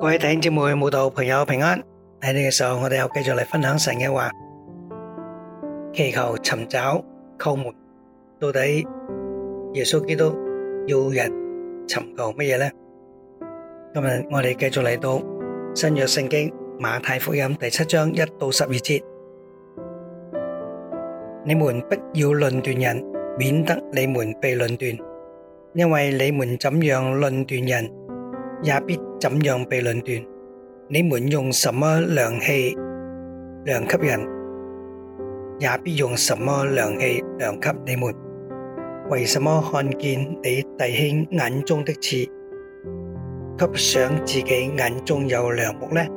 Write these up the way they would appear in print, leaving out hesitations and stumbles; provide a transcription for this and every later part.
各位弟兄姊妹、慕道朋友平安。喺呢個時候，我哋又繼續嚟分享神嘅話，祈求、尋找、叩門。到底耶穌基督要人尋求乜嘢呢？今日我哋繼續嚟到新約聖經馬太福音第7章1到12節。你們不要論斷人，免得你們被論斷。因為你們怎樣論斷人，也必怎樣被論斷。你們用什麼量器量給人，也必用什麼量器量給你們。為什麼看見你弟兄眼中的刺，卻想自己眼中有梁木呢？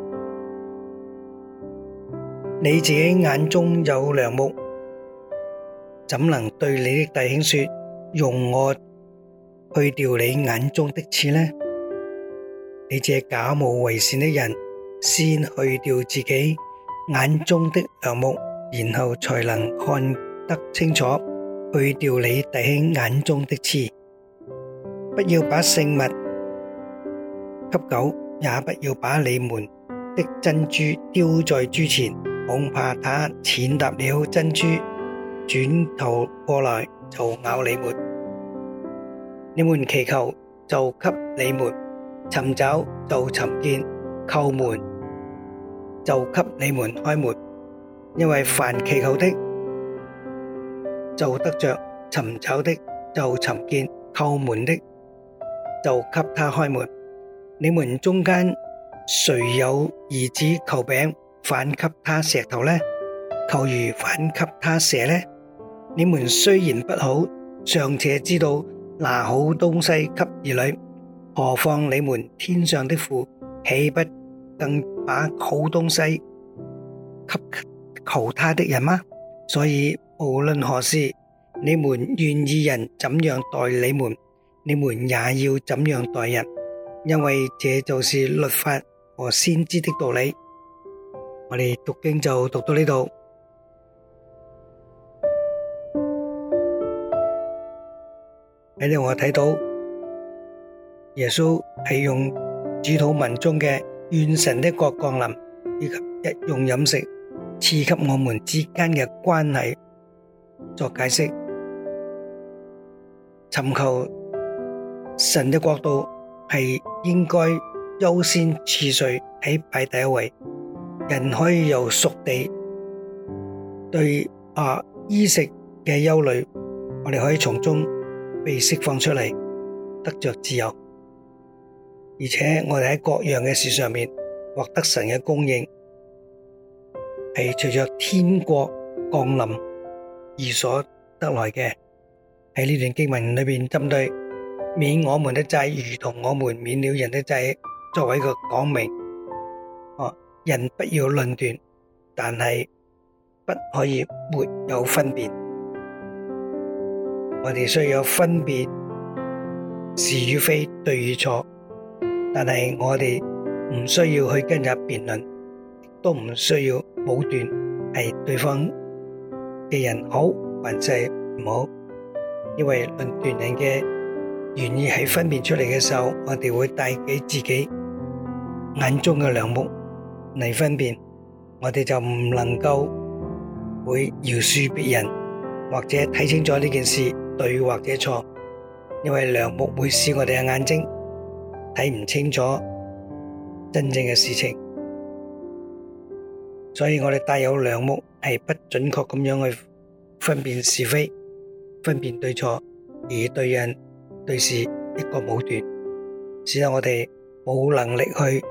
你自己眼中有梁木，怎能對你的弟兄說，容我去掉你眼中的刺呢？你這假冒為善的人，先去掉自己眼中的梁木，然後才能看得清楚，去掉你弟兄眼中的刺。不要把聖物給狗，也不要把你們的珍珠丟在豬前，恐怕它踐踏了珍珠，轉頭過來就咬你們。你們祈求，就給你們；尋找，就尋見；叩門，就給你們開門。因為凡祈求的，就得着；尋找的，就尋見；叩門的，就給他開門。你們中間誰有兒子求餅，反給他石頭呢？求魚，反給他蛇呢？你們雖然不好，尚且知道拿好東西給兒女，何況你們天上的父，豈不更把好東西給求他的人嗎？所以無論何事，你們願意人怎樣待你們，你們也要怎樣待人，因為這就是律法和先知的道理。我哋讀經就讀到呢度。喺呢度我睇到耶穌係用主禱文中嘅願神的國降臨，以及日用飲食賜給我們之間嘅關係作解釋。尋求神的國度係應該優先次序喺排第一位。人可以由屬地對衣食嘅憂慮，我哋可以從中被釋放出嚟，得着自由。而且我哋喺各樣嘅事上面獲得神嘅供應，係隨着天國降臨而所得來嘅。喺呢段經文裏邊，針對免我們的債如同我們免了人的債，作為一個講明，人不要論斷，但係不可以沒有分別。我哋需要分別是與非、對與錯，但係我哋唔需要去跟人辯論，亦都唔需要武斷係對方嘅人好還是唔好，因為論斷人嘅原意喺分辨出嚟嘅時候，我哋會帶俾自己眼中嘅梁木嚟分辨，我哋就唔能夠會饒恕別人，或者睇清楚呢件事對或者錯，因為梁木會使我哋嘅眼睛睇唔清楚真正嘅事情，所以我哋帶有梁木係不準確咁樣去分辨是非、分辨對錯，而對人對事一個武斷，使得我哋冇能力去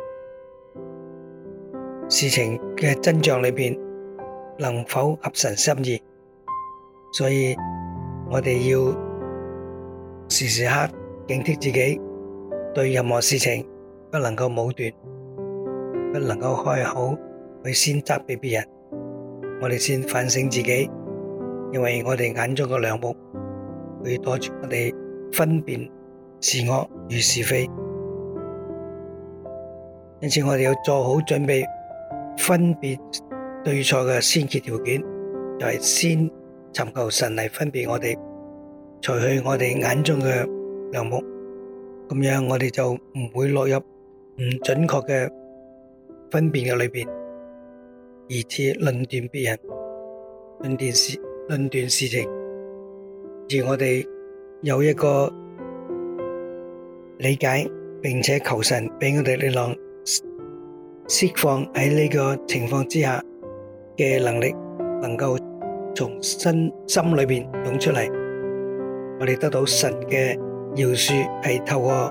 事情嘅真相裏邊能否合神心意。所以我哋要時時刻警惕自己，對任何事情不能夠武斷，不能夠開口去先責備別人，我哋先反省自己，因為我哋眼中嘅梁木會阻住我哋分辨是惡與是非。因此我哋要做好準備，分別對錯嘅先決條件就係先尋求神嚟分別我哋，除去我哋眼中嘅梁木，咁樣我哋就唔會落入唔準確嘅分辨嘅裏邊，以致論斷別人、論斷事情，而我哋有一個理解，並且求神俾我哋力量釋放喺呢個情況之下嘅能力，能夠從心裏邊湧出嚟。我哋得到神嘅饒恕，係透過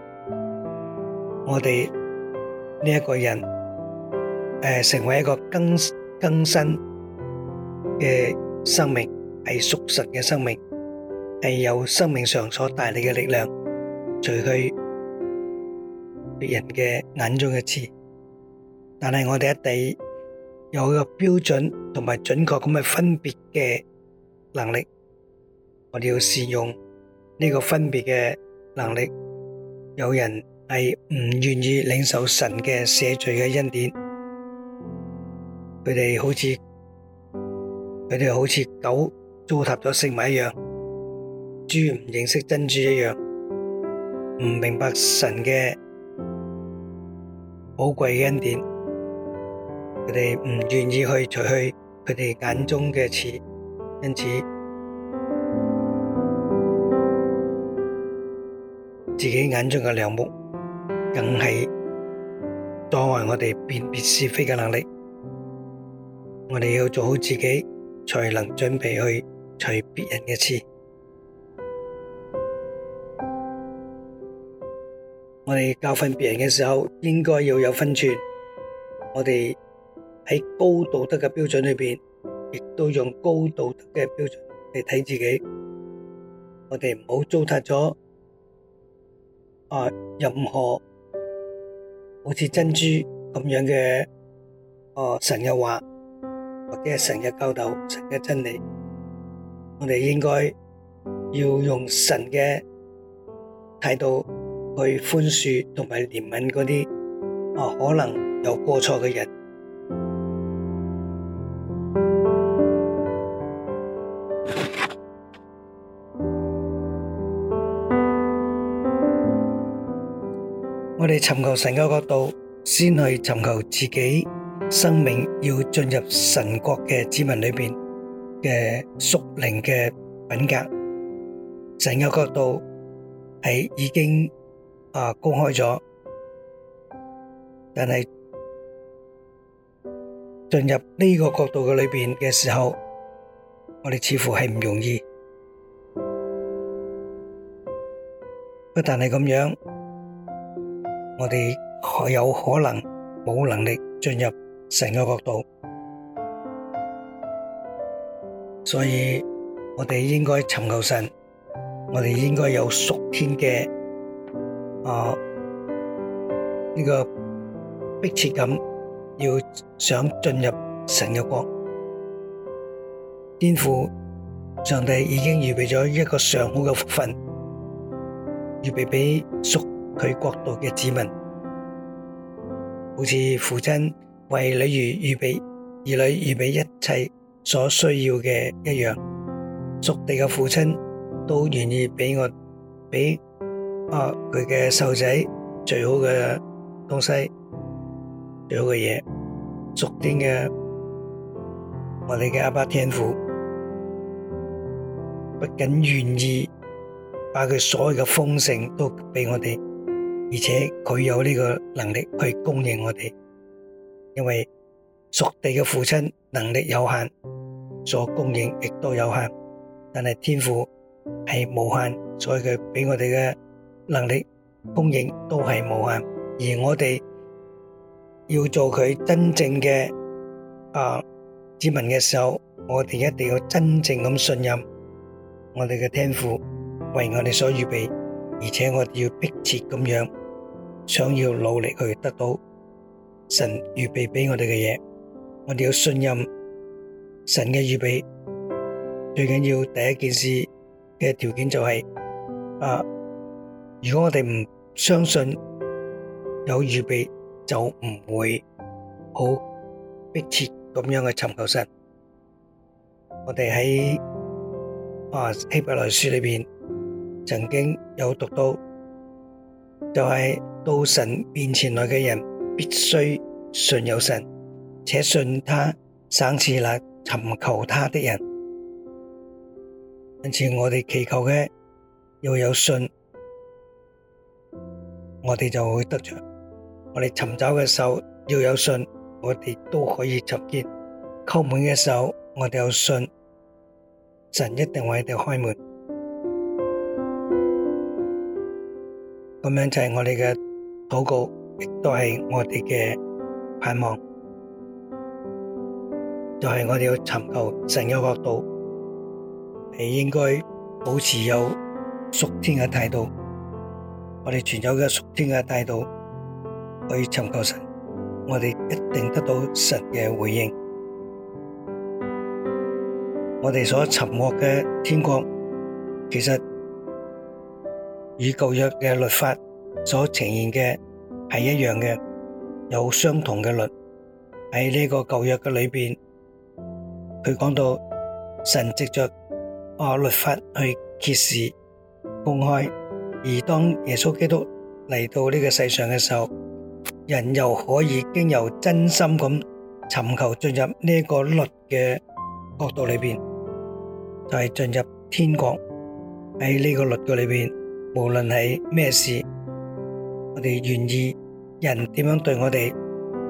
我哋呢一個人成為一個更新嘅生命，係屬神嘅生命，係有生命上所帶嚟嘅力量，除去別人嘅眼中嘅刺。但係我哋一定有一個標準同埋準確咁嘅分別嘅能力，我哋要善用呢個分別嘅能力。有人係唔願意領受神嘅赦罪嘅恩典，佢哋好似狗糟蹋咗食物一樣，豬唔認識珍珠一樣，唔明白神嘅寶貴嘅恩典，佢哋唔願意去除去佢哋眼中嘅刺，因此自己眼中嘅梁木更係阻礙我哋辨別是非嘅能力。我哋要做好自己，才能準備去除別人嘅刺。我哋教訓別人嘅時候，應該要有分寸。我哋喺高道德嘅標準裏邊，亦都用高道德嘅標準嚟睇自己。我哋唔好糟蹋咗任何好似珍珠咁樣嘅神嘅話，或者係神嘅教導、神嘅真理。我哋應該要用神嘅態度去寬恕同埋憐憫嗰啲可能有過錯嘅人。我哋尋求神嘅角度，先去尋求自己生命要進入神國嘅子民裏邊嘅屬靈嘅品格。神嘅角度係已經公開咗，但係進入呢個角度嘅裏邊嘅時候，我哋似乎係唔容易。不但係咁樣，我哋有可能冇能力進入神嘅國度，所以我哋應該尋求神，我哋應該有屬天嘅呢個迫切感，要想進入神嘅國。天父上帝已經預備咗一個上好嘅福分，預備俾屬佢國度嘅子民，好似父親為兒女預備一切所需要嘅一樣，屬地嘅父親都願意俾佢嘅細路仔最好嘅東西，最好嘅嘢。屬天嘅我哋嘅阿爸天父不僅願意把佢所有嘅豐盛都俾我哋，而且佢有呢個能力去供應我哋，因為屬地嘅父親能力有限，所供應亦都有限，但係天父係無限，所以佢俾我哋嘅能力供應都係無限。而我哋要做佢真正嘅子民嘅時候，我哋一定要真正咁信任我哋嘅天父為我哋所預備，而且我哋要迫切咁樣想要努力去得到神預備俾我哋嘅嘢。我哋要信任神嘅預備，最緊要第一件事嘅條件就係如果我哋唔相信有預備，就唔會好迫切咁樣去尋求神。我哋喺希伯來書裏邊曾經有讀到，就係到神面前來嘅人必須信有神，且信他賞賜那尋求他的人。因此我哋祈求嘅要有信，我哋就會得着。我哋尋找嘅時候要有信，我哋都可以尋見。叩門嘅時候，我哋有信，神一定為我哋開門。咁樣就係我哋嘅禱告，亦都係我哋嘅盼望。就係我哋要尋求神嘅國度，係應該保持有屬天嘅態度。我哋存有嘅屬天嘅態度去尋求神，我哋一定得到神嘅回應。我哋所尋獲嘅天國，其實與舊約嘅律法所呈現嘅係一樣嘅，有相同嘅律。喺呢個舊約嘅裏邊，佢講到神藉着律法去揭示公開，而當耶穌基督嚟到呢個世上嘅時候，人又可以經由真心咁尋求進入呢個律嘅國度裏邊，就係進入天國。喺呢個律嘅裏邊，無論係咩事，我哋願意人點樣對我哋，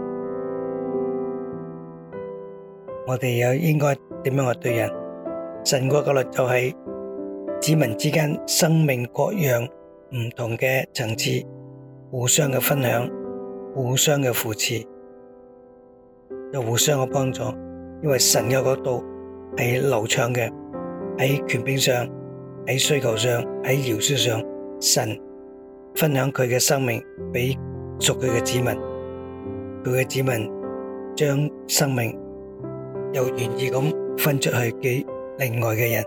我哋又應該點樣去對人。神國嘅律就係子民之間生命各樣唔同嘅層次，互相嘅分享，互相嘅扶持，又互相嘅幫助。因為神嘅國度係流暢嘅，喺權柄上，喺需求上，喺饒恕上，神分享佢嘅生命俾屬佢嘅子民，佢嘅子民將生命又願意咁分出去俾另外嘅人。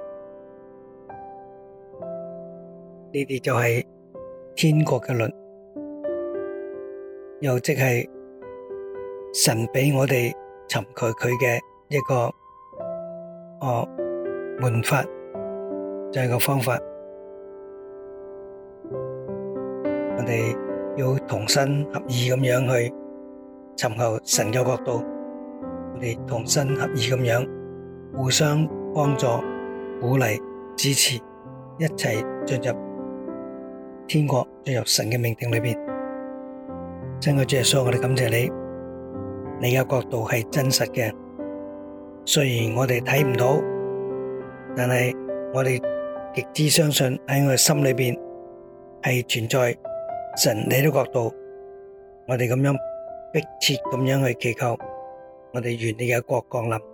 呢啲就係天國嘅律，又即係神俾我哋尋求佢嘅一個門法，就係個方法。我哋要同心合意咁樣去尋求神嘅國度，我哋同心合意咁樣互相幫助、鼓勵、支持，一齊進入天國，進入神嘅命定裏邊。親愛的主耶穌，我哋感謝你，你嘅國度係真實嘅。雖然我哋睇唔到，但係我哋極之相信喺我哋心裏邊係存在神你嘅國度。我哋咁樣迫切咁樣去祈求，我哋願你嘅國降臨，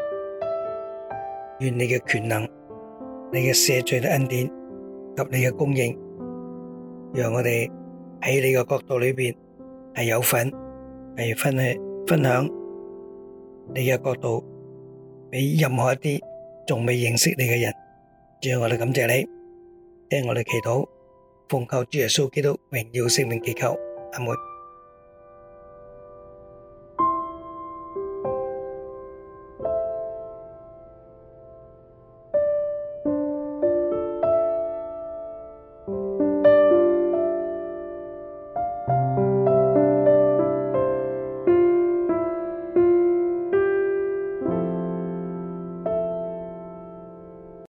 願你嘅權能、你嘅赦罪的恩典及你嘅供應，讓我哋喺你嘅國度裏邊係有份，係分享你嘅國度俾任何一啲仲未認識你嘅人。主啊，我哋感謝你，聽我哋祈禱，奉靠主耶穌基督榮耀聖名祈求，阿門。